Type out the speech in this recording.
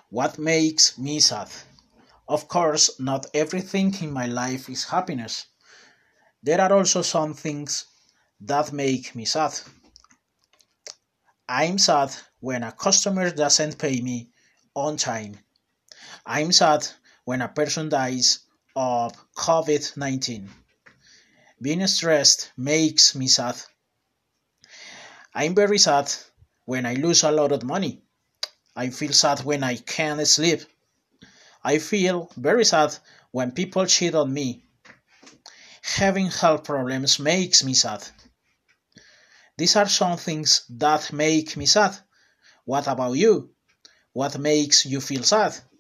What makes me sad? Of course, not everything in my life is happiness. There are also some things that make me sad. I'm sad when a customer doesn't pay me on time. I'm sad when a person dies of COVID-19. Being stressed makes me sad. I'm very sad when I lose a lot of money. I feel sad when I can't sleep. I feel very sad when people cheat on me. Having health problems makes me sad. These are some things that make me sad. What about you? What makes you feel sad?